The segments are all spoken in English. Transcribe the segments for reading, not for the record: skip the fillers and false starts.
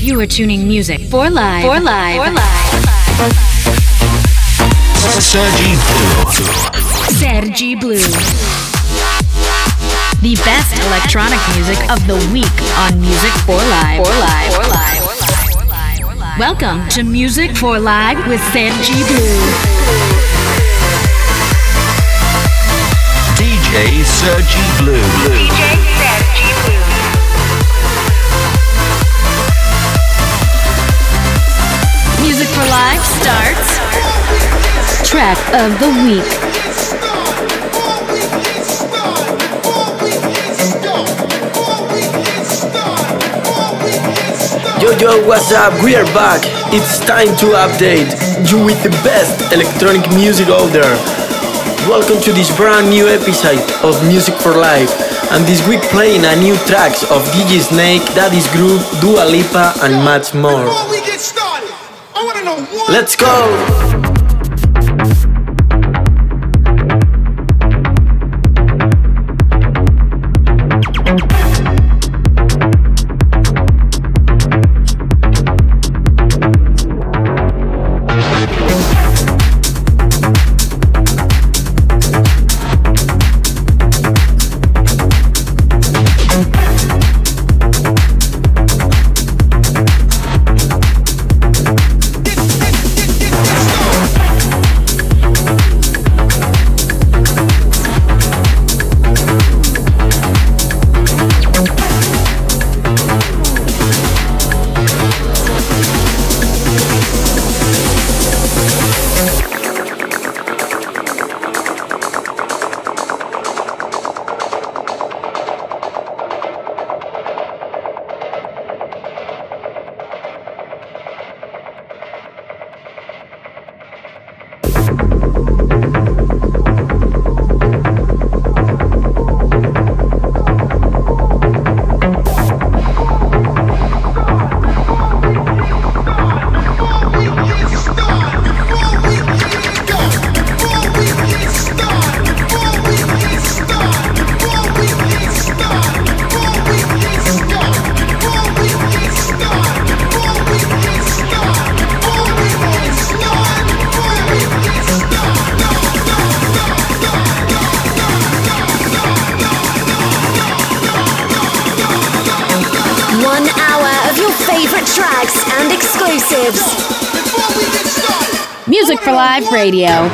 You are tuning music for live. For live. For live. Sergi Blue. Sergi Blue. The best electronic music of the week on Music for Live. For live. For live. Welcome to Music for Live with Sergi Blue. DJ Sergi Blue. DJ Sergi Blue. Music for Live starts. Track of the week. Yo, what's up? We are back. It's time to update you with the best electronic music out there. Welcome to this brand new episode of Music for Life. And this week playing a new tracks of DJ Snake, Daddy's Groove, Dua Lipa and much more. Before we get started, I wanna know one. Let's go! Music for Live Radio.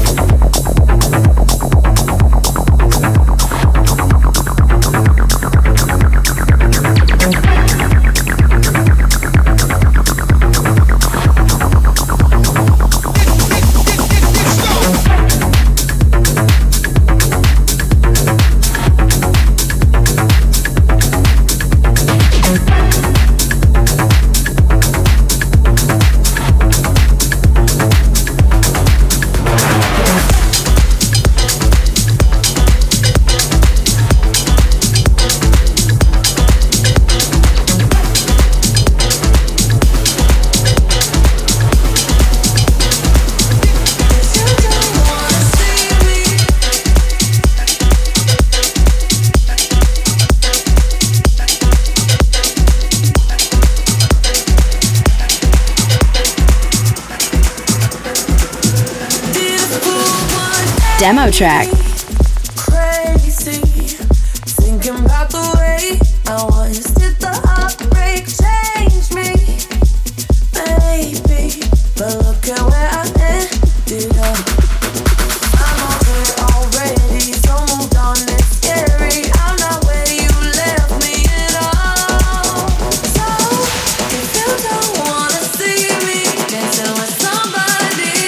Demo track. Crazy, thinking about the way I was. Did the heartbreak change me? Maybe, but look at where I ended up. I'm over it already, so moved on. It's scary. I'm not where you left me at all. So if you don't wanna see me dancing with somebody.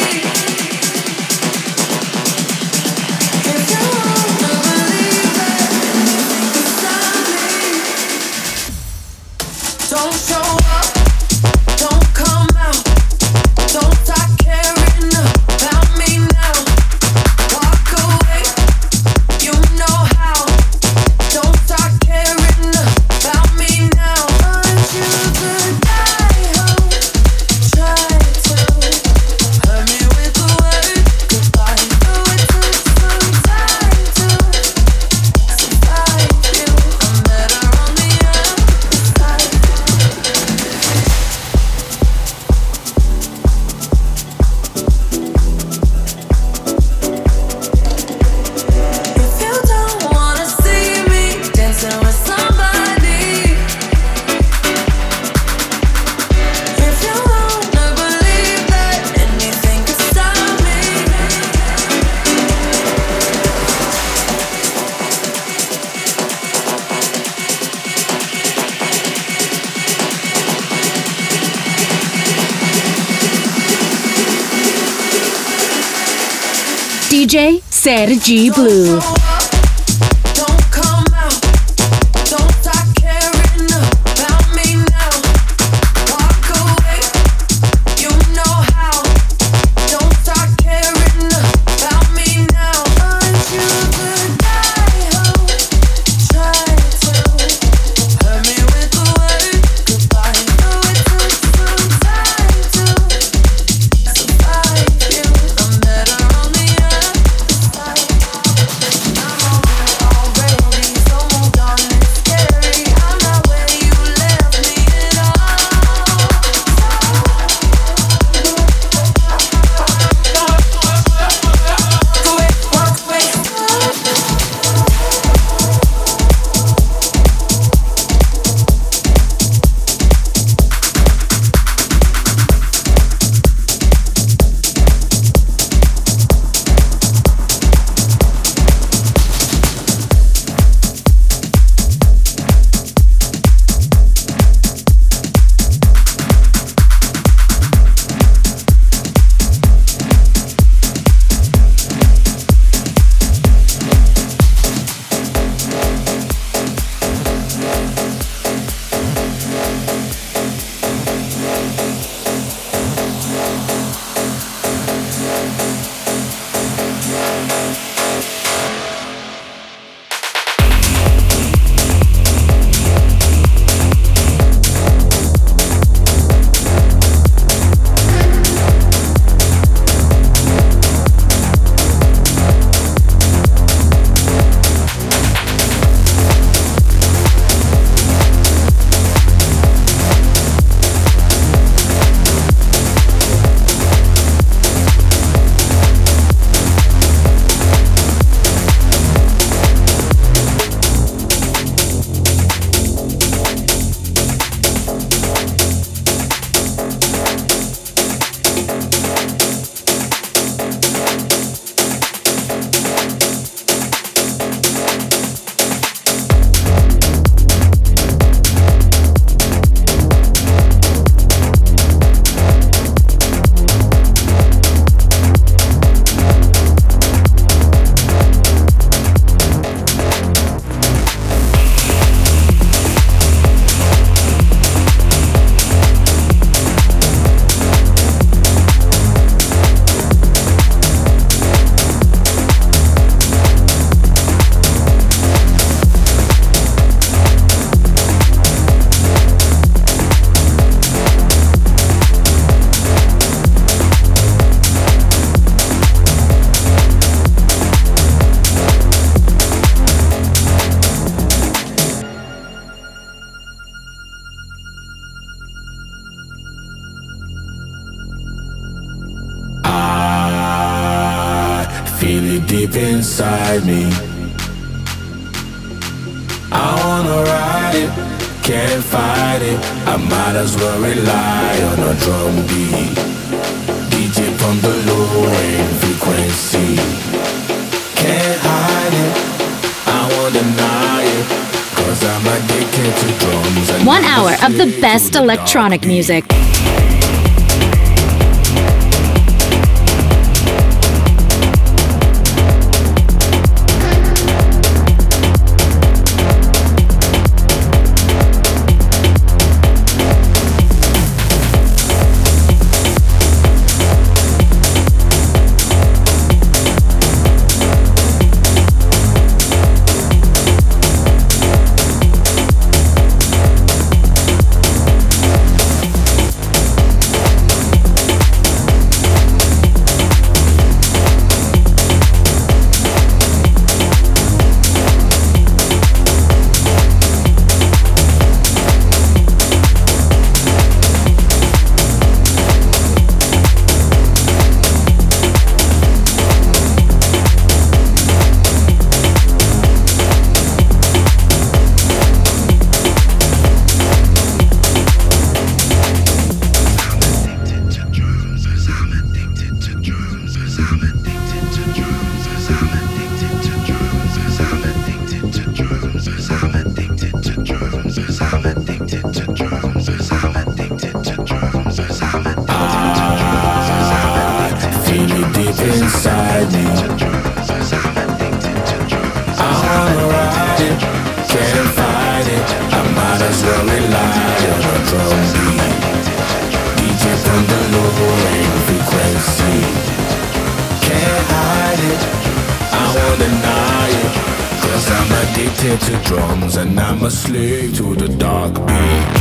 Don't show up, don't come out, don't start caring about me now. Walk away, you know how. Don't start caring about me now. Aren't you the guy who tried to hurt me with the word goodbye? Though it took some time to survive you, I'm better on the other side. DJ Sergi Blue. feel it deep inside me. I wanna ride it, can't fight it. I might as well rely on a drum beat. DJ from the low-end frequency. Can't hide it, I won't deny it, 'cause I'm addicted to drums. 1 hour of the best electronic music. Feel it deep inside me. I'm addicted to drums and I'm a slave to the dark beat.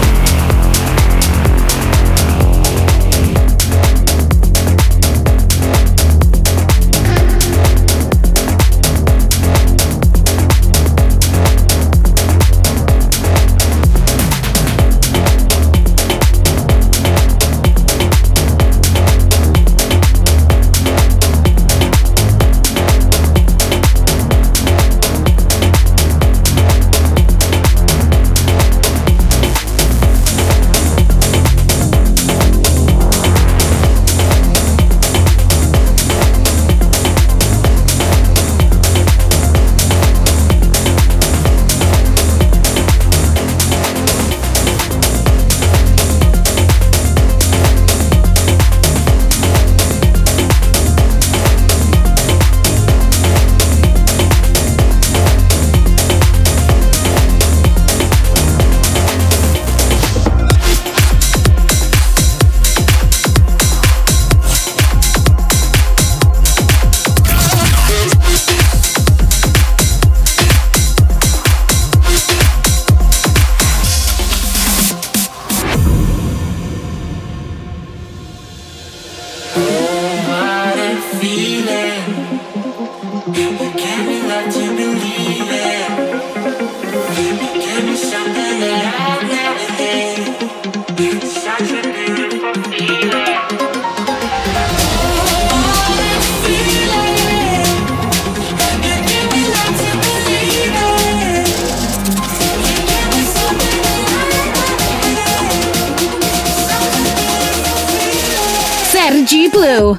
Sergi Blue.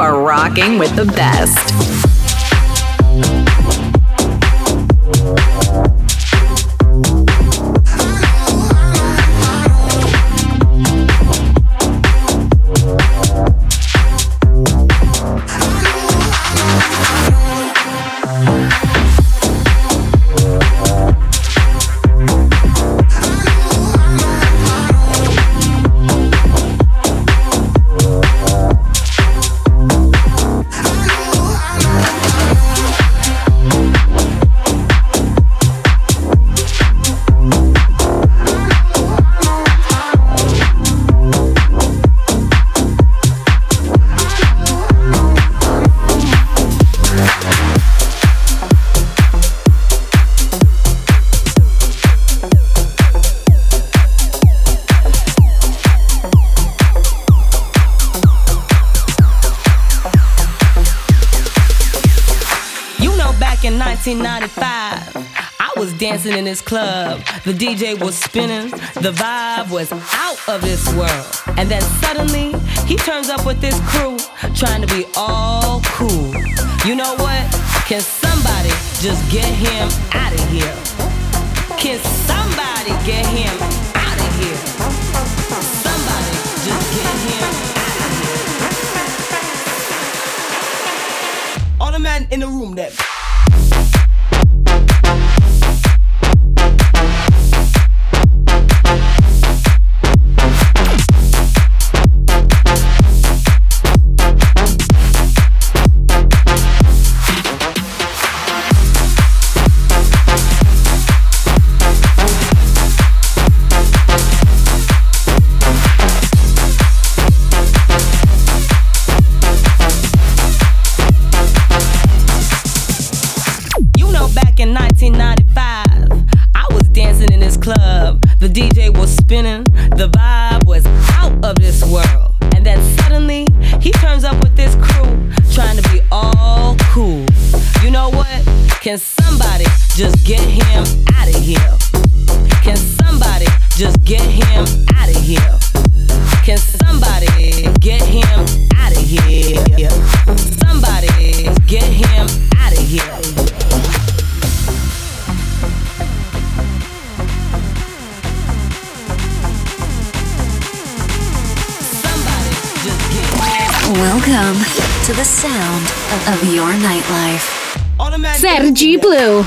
are rocking with the best. In 1995, I was dancing in this club. The DJ was spinning, the vibe was out of this world. And then suddenly, he turns up with this crew, trying to be all cool. You know what? Can somebody just get him out of here? Can somebody get him out of here? Somebody just get him out of here. All the men in the room that in 1995, I was dancing in this club. The DJ was spinning, the vibe was out of this world. And then suddenly, he turns up with this crew, trying to be all cool. You know what? Can somebody just get him out of here? Can somebody just get him out of here? Can somebody get him out of here? Somebody get him out of here. Welcome to the sound of your nightlife. Sergi Blue.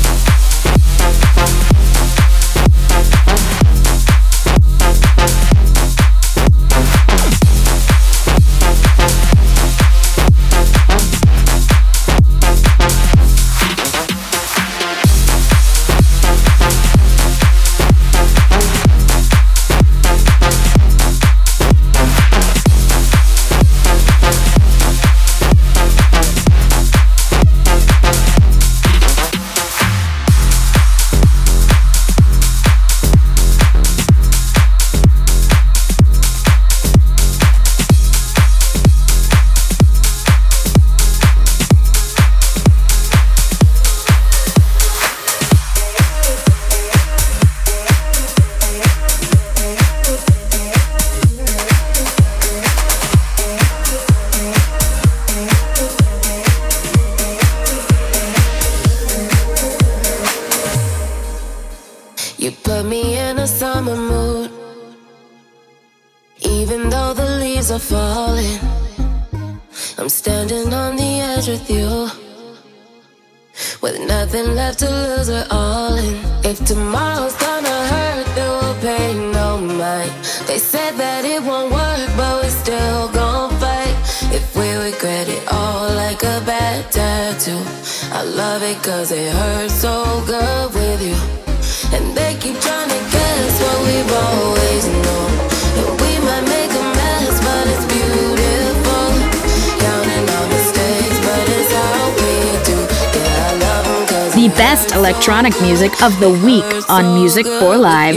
Are falling. I'm standing on the edge with you, with nothing left to lose, we're all in. If tomorrow's gonna hurt, it will pay no mind. They said that it won't work, but we're still gon' fight. If we regret it all like a bad tattoo, I love it cause it hurts so good with you. And they keep trying to guess what we've always known, and we might make a mess, but it's beautiful. Counting our mistakes, but it's how we do. Yeah, I love 'em 'cause The best electronic music of the week on Music for Live.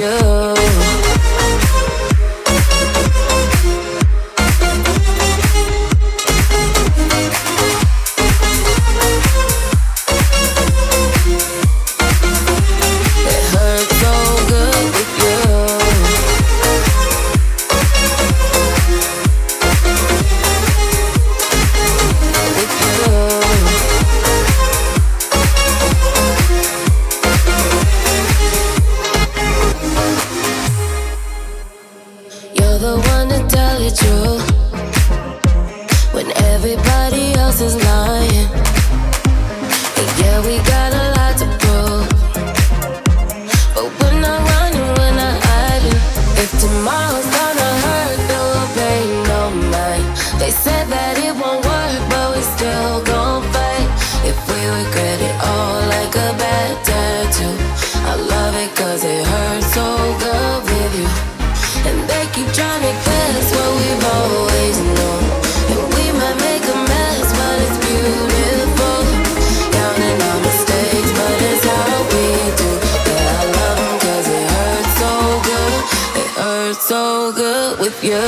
be true when everybody else is lying. And yeah, we got a lot to prove, but we're not running, we're not hiding. If tomorrow's gonna hurt, then we'll pay no mind. They said that it won't work, but we still gon' fight. If we regret it all like a bad tattoo, I love it cause it hurts so good with you. And they keep trying to guess what we've always known. And we might make a mess, but it's beautiful. Counting our mistakes, but it's how we do. Yeah, I love them cause it hurts so good. It hurts so good with you.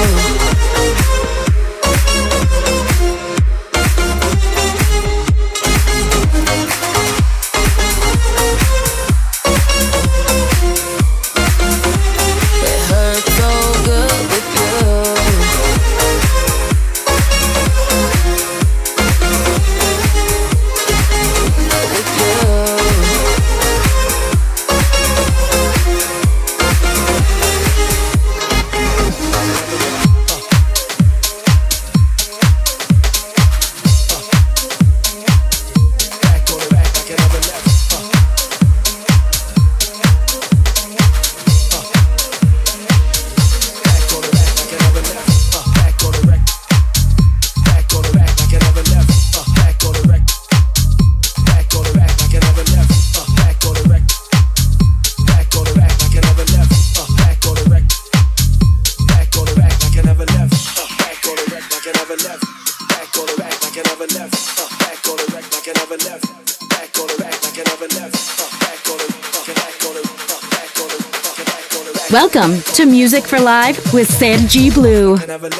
Welcome to Music for Live with Sergi Blue.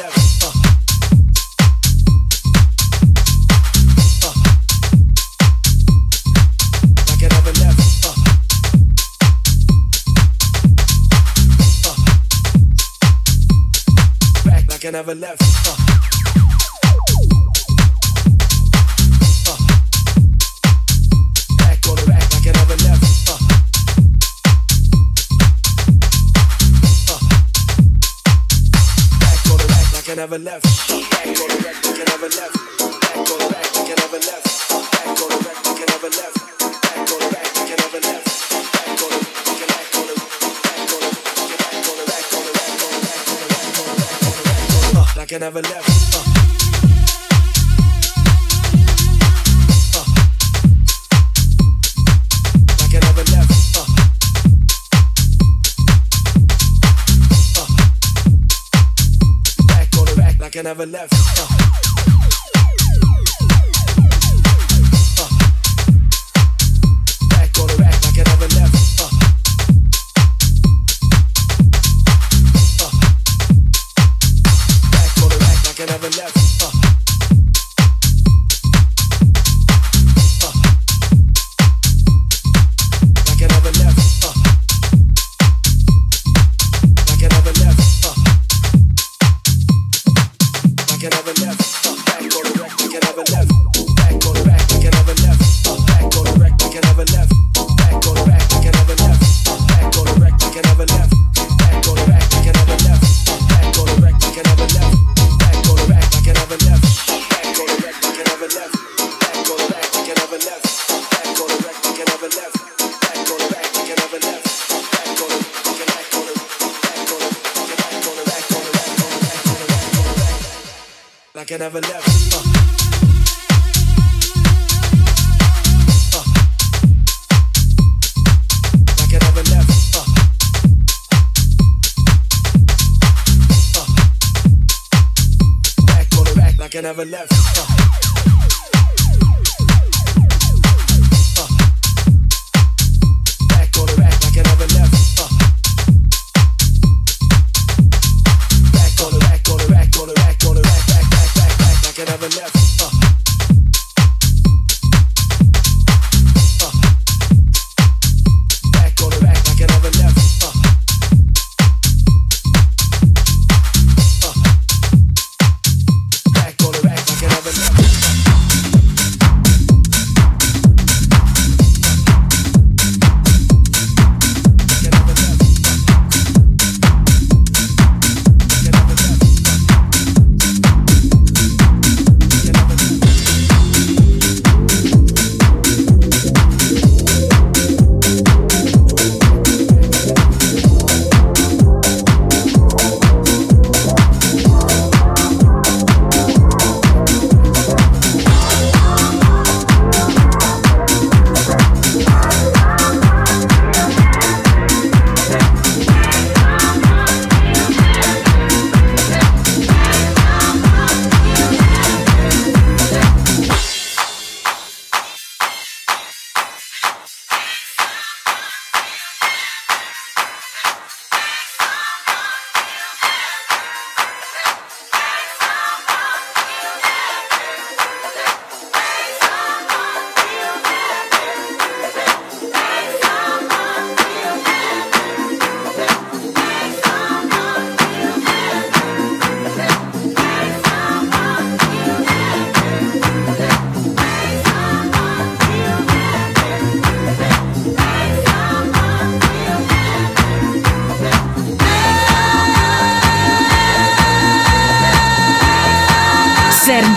I never left. Back on the rack like I never left. Back on the rack like I never left. Back on the rack like I never left. Back on the rack like I never left. Back on the rack like I never left. Back on the rack like I never left. Back on the rack on the like I never left. Like I never left. Back on the rack like I never left. Back on the rack like I never left. Like I never left. Like I never left. Like I never left. Like I never left. Back on the rack like I never left. Back on the rack like I never left. Back on the rack like I never left. Back on the rack like I never left. Back on the rack like I never left. Back on the rack like I never left. Back on the rack like I never left. Back on the rack like I never left. Back on the rack like I never left. Back on the rack like I never left. Back on the rack like I never left. Back on the rack like I never left. Back on the rack on the like I never left. Like I never left. Back on the rack like I never left. Back on the rack like I never left. Back on the rack, on the rack, on the rack, on the rack, back like I never left. Back on the rack like I never left. Back on the rack like I never left.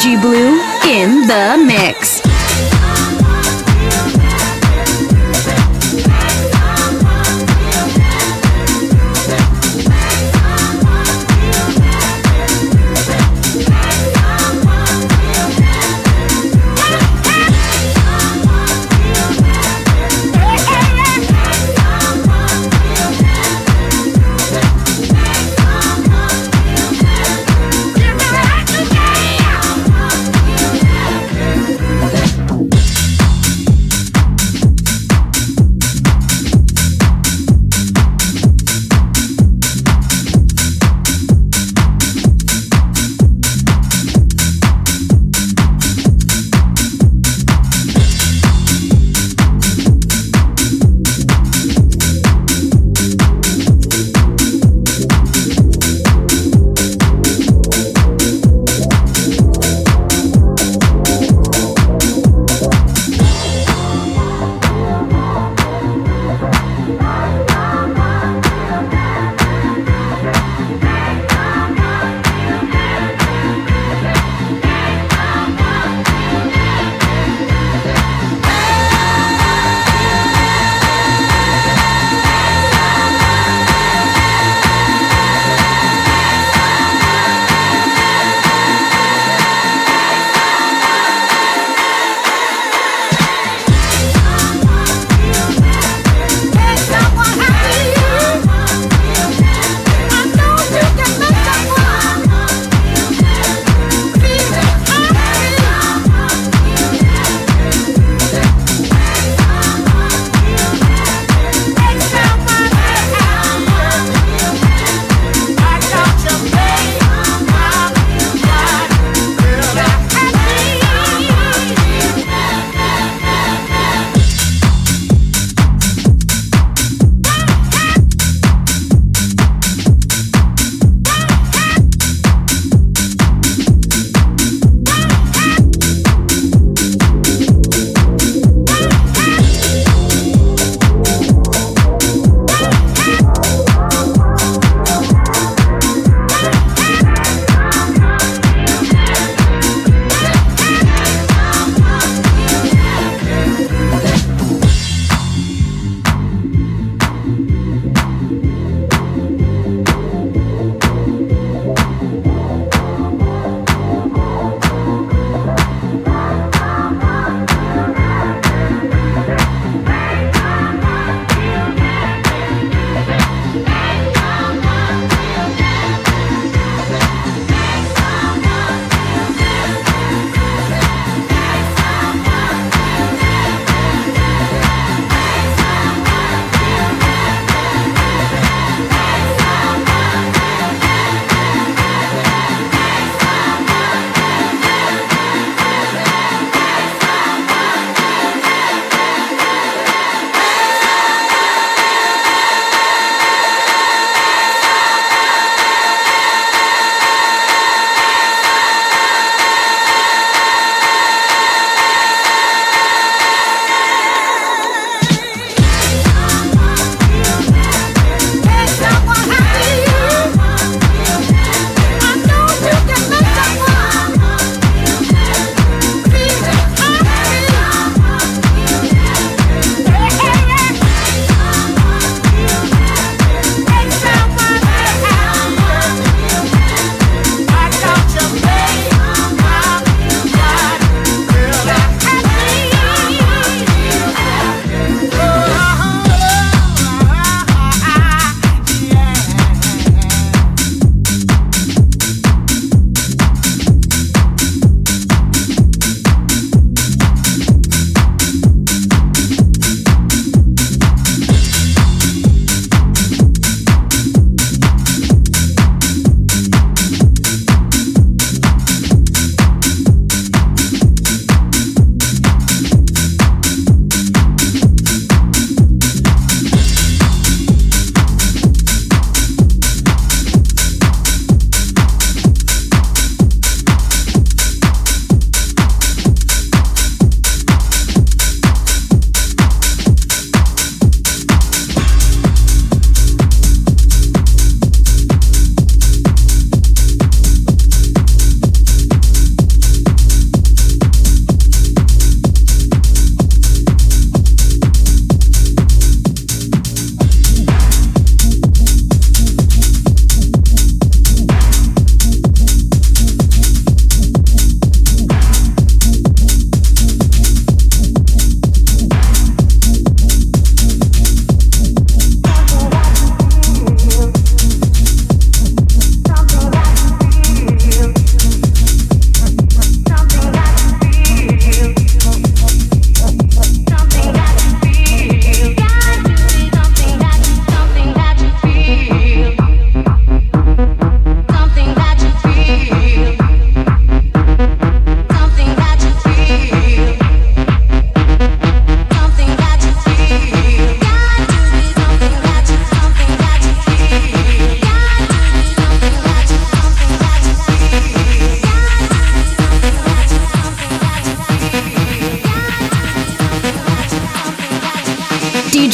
Sergi Blue in the mix.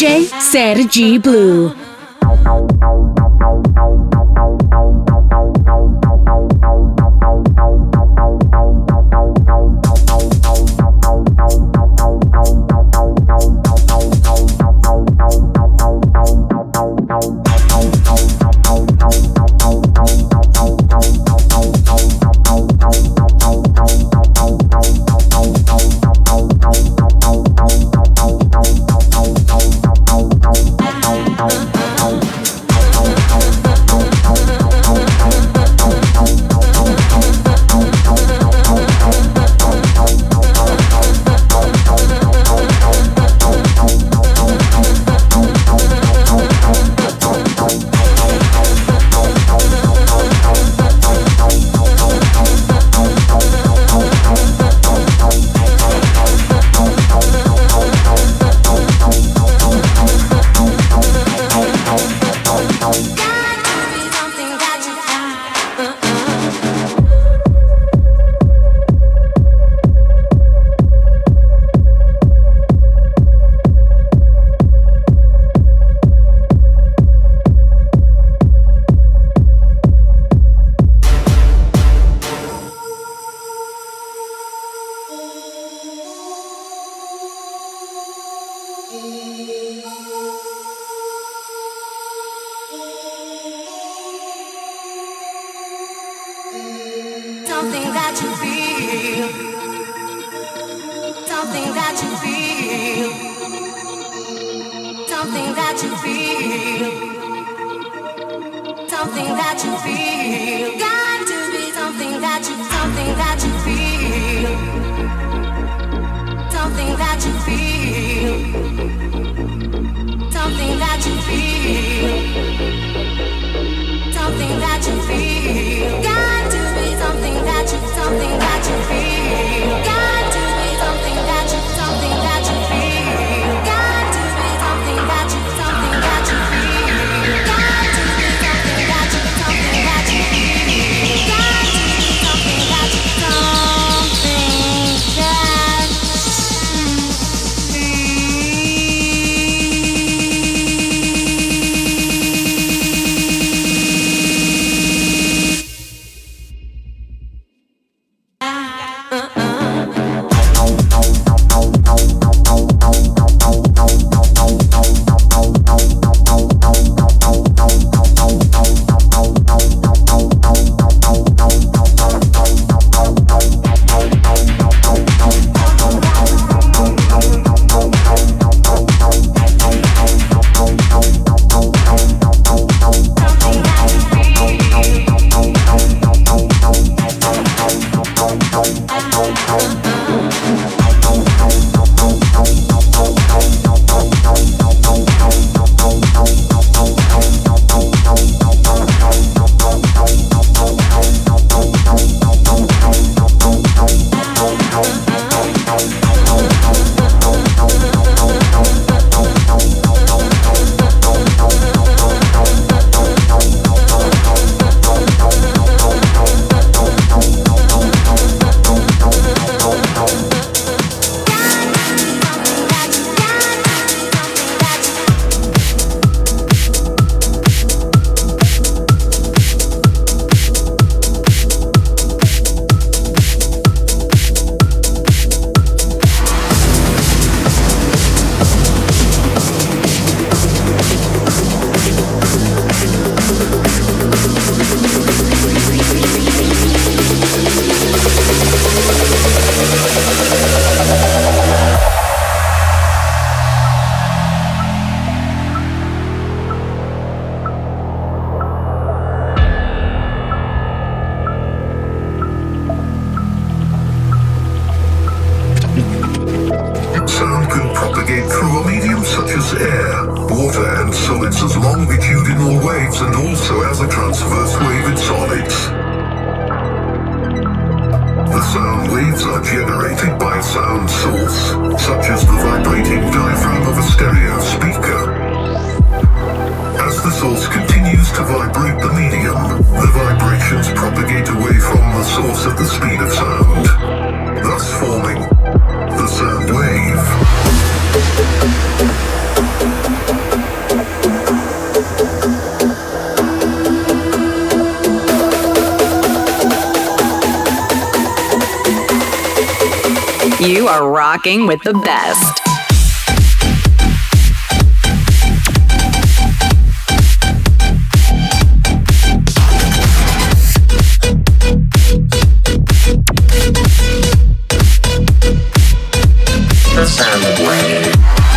DJ Sergi Blue. Something that you feel. Something that you feel. Something that you feel. Something that you feel. Got to be something that you feel. Something that you feel. Something that you feel. Something that you feel. Got to be something that you feel. Got to be something that you feel. Got to be something that you feel. Got to be something that you feel. Got to be something that you Forming the sound wave. You are rocking with the best. The sound of reggae.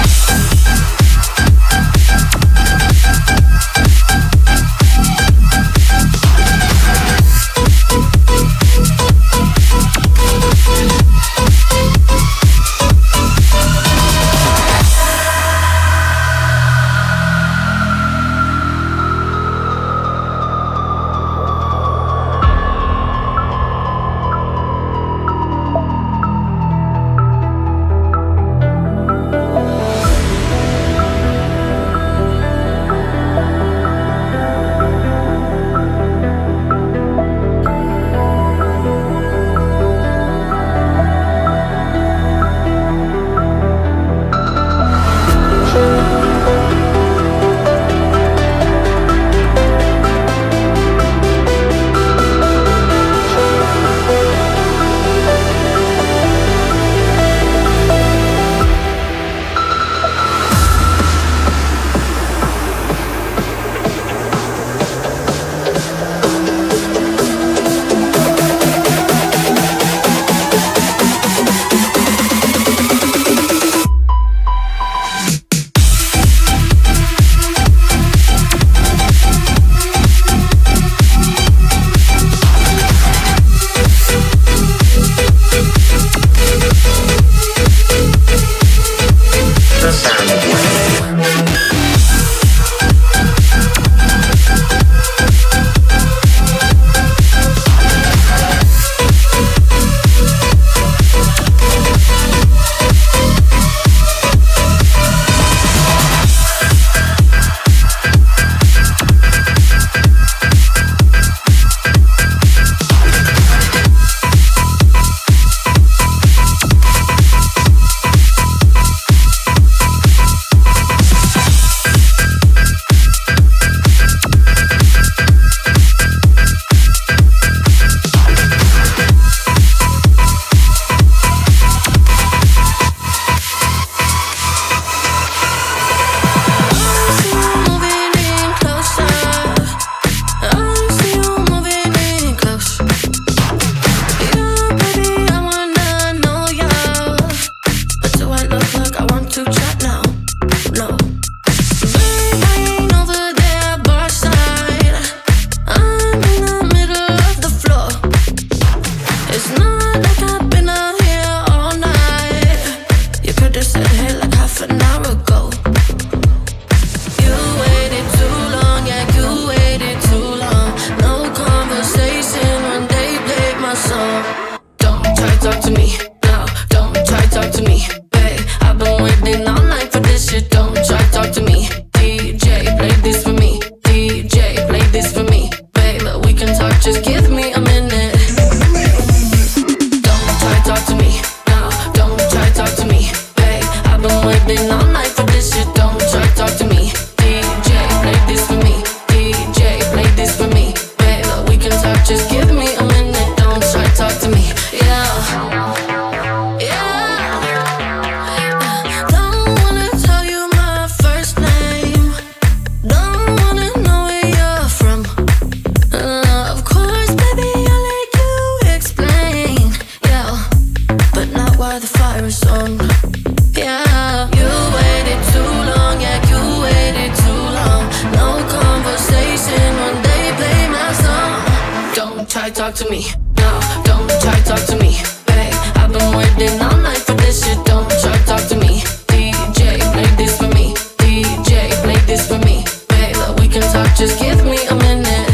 Talk to me, no, don't try talk to me, babe. I've been waiting all night for this shit. Don't try talk to me, DJ, play this for me, DJ, play this for me, babe. We can talk, just give me a minute.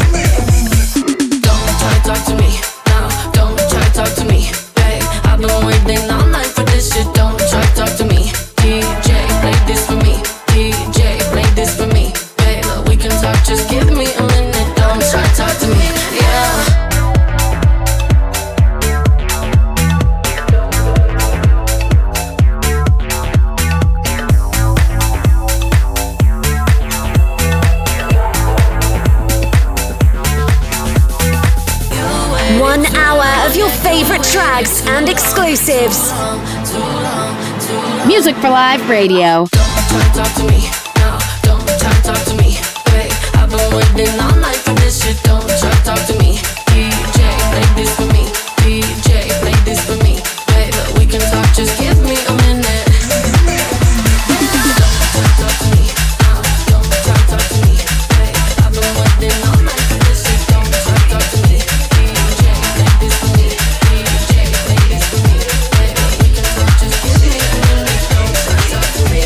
Don't try talk to me, no, don't try talk to me, babe. I've been waiting all night for this shit. Don't try talk to me, DJ, play this for me, DJ, play this for me, babe. We can talk, just give me a minute. Don't try talk to me, yeah. hour of your favorite tracks and exclusives. Music for Live Radio. Don't talk to me, no, don't talk to me. Wait, I've been waiting all night for this shit. Don't talk to me. DJ, play this for me. DJ, play this for me. Baby, we can talk, just give me a minute. Don't talk to me, no, don't talk to me. Wait, I've been waiting all night for this shit. Don't talk to me. DJ, play this for me. DJ, play this for me. Baby, we can talk, just give me a minute. Don't talk to me.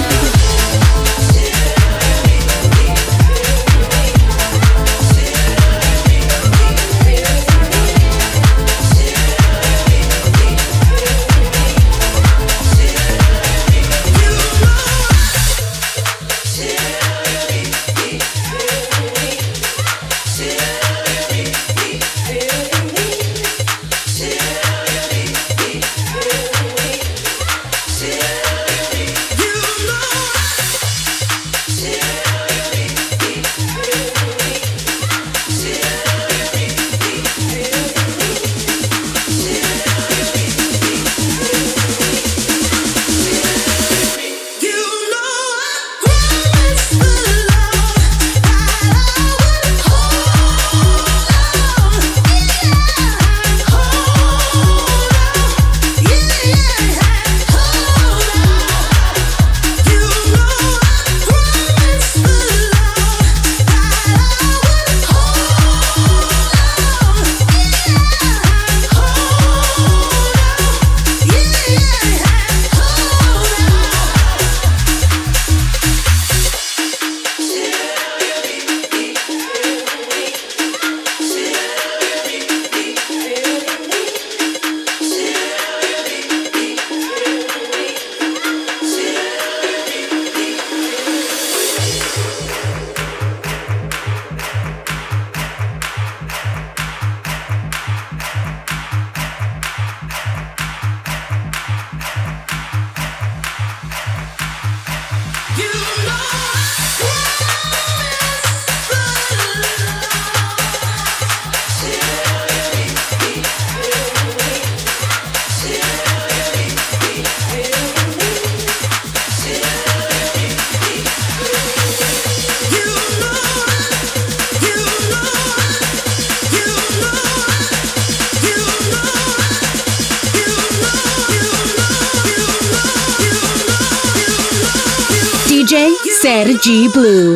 DJ Sergi Blue.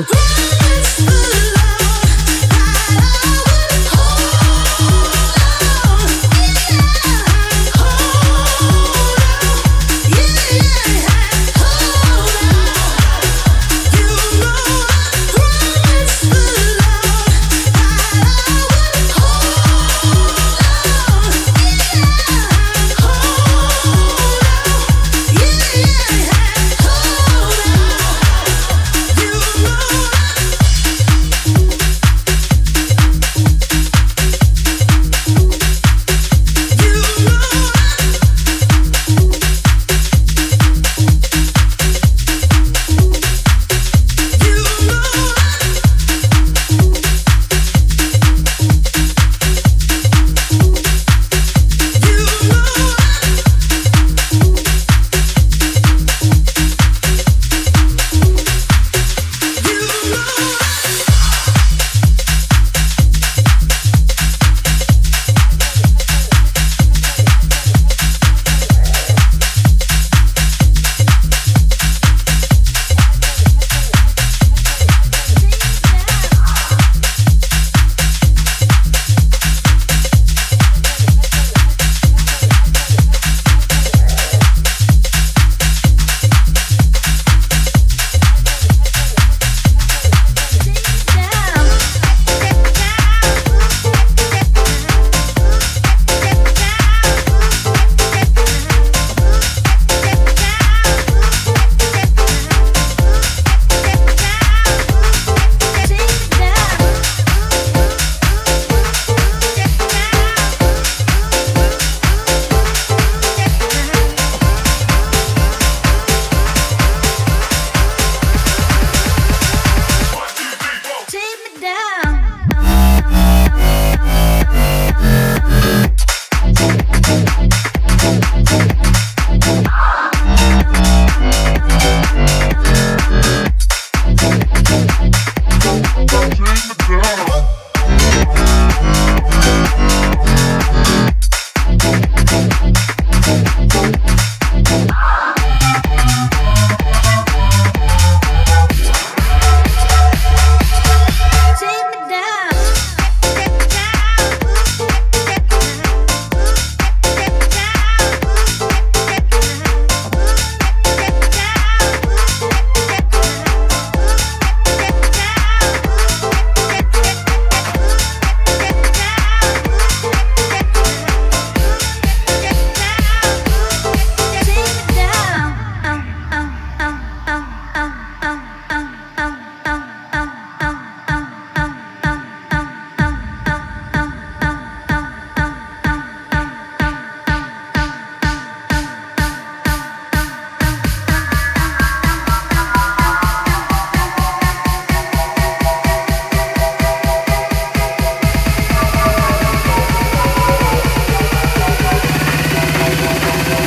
You know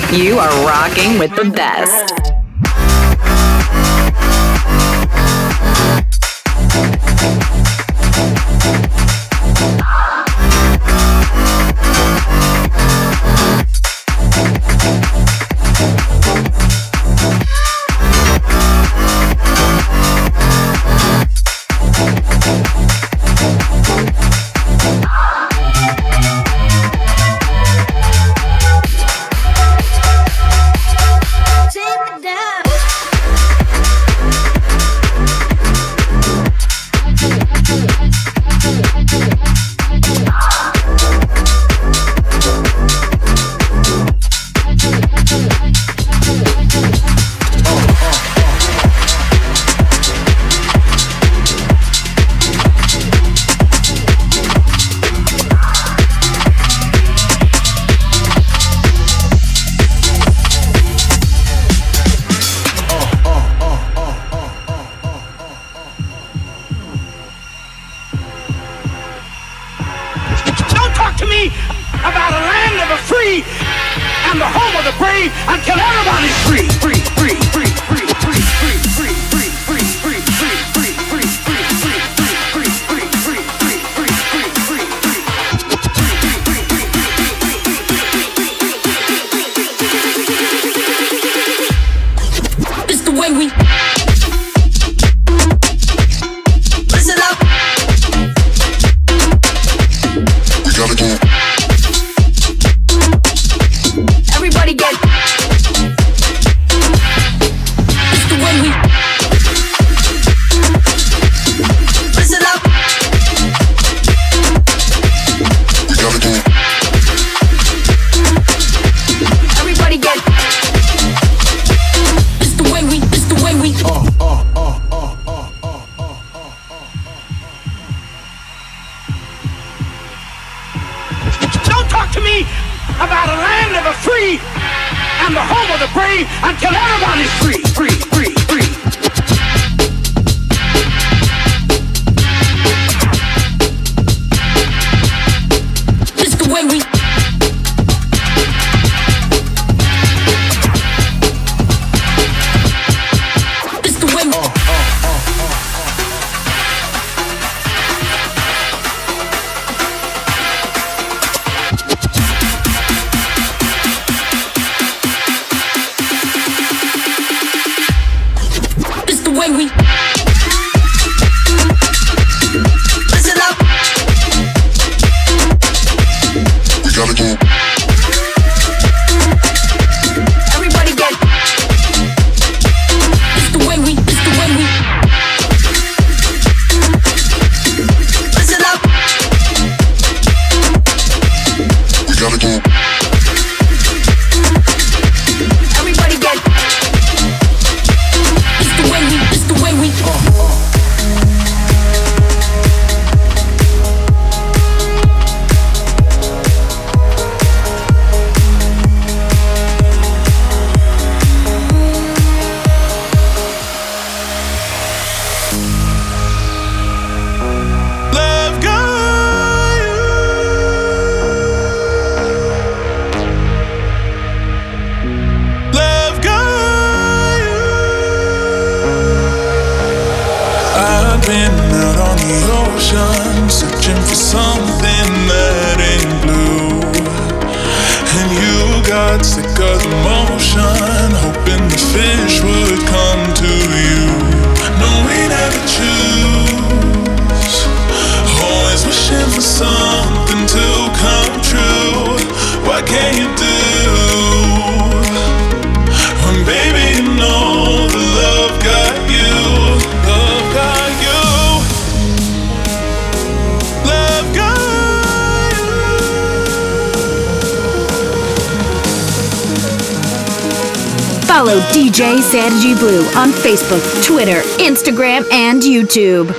You are rocking with the best. Follow DJ Sergi Blue on Facebook, Twitter, Instagram, and YouTube.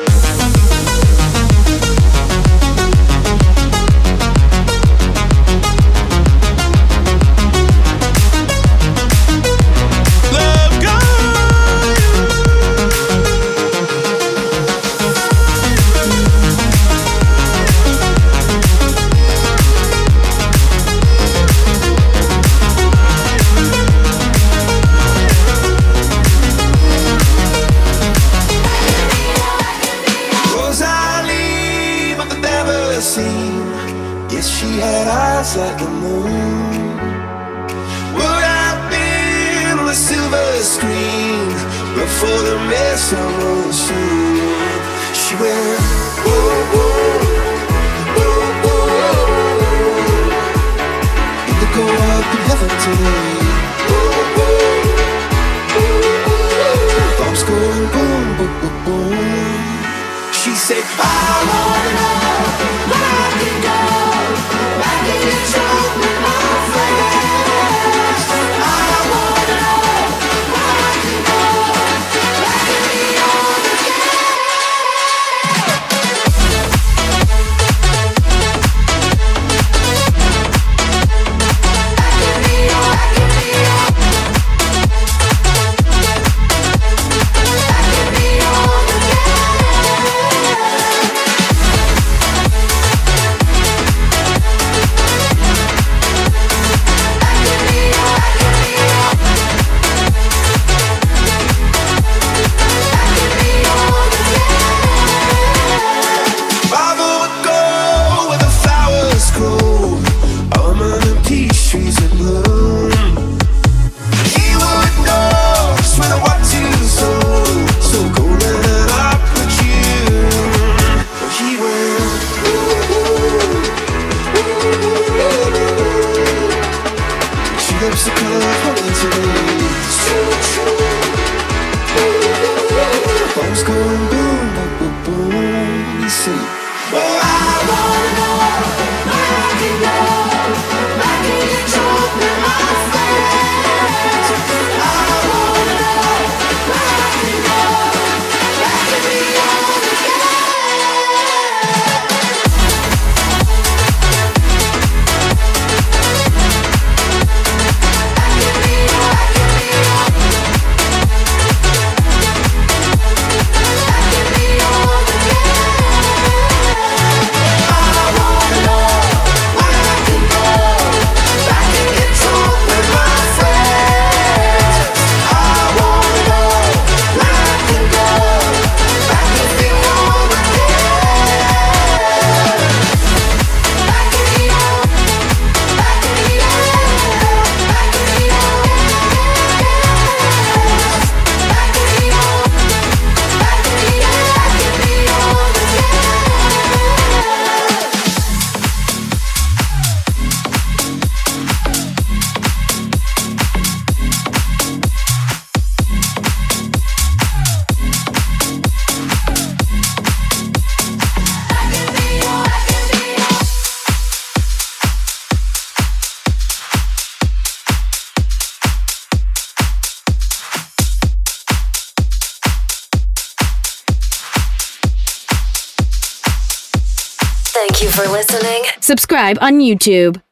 ever seen. Yes, she had eyes like the moon. Would have been on a silver screen, but for the mess I wrote soon. She went, whoa, whoa, whoa, whoa. You could go up in heaven today. Whoa, whoa, whoa. Bombs going boom, boom, boom, boom. She said, I wanna know where I can go. Back in your trunk with my friends. I wanna know where I can go. Back in the old again. Back in the old, back in the old. Back in the old again. Thank you for listening. Subscribe on YouTube.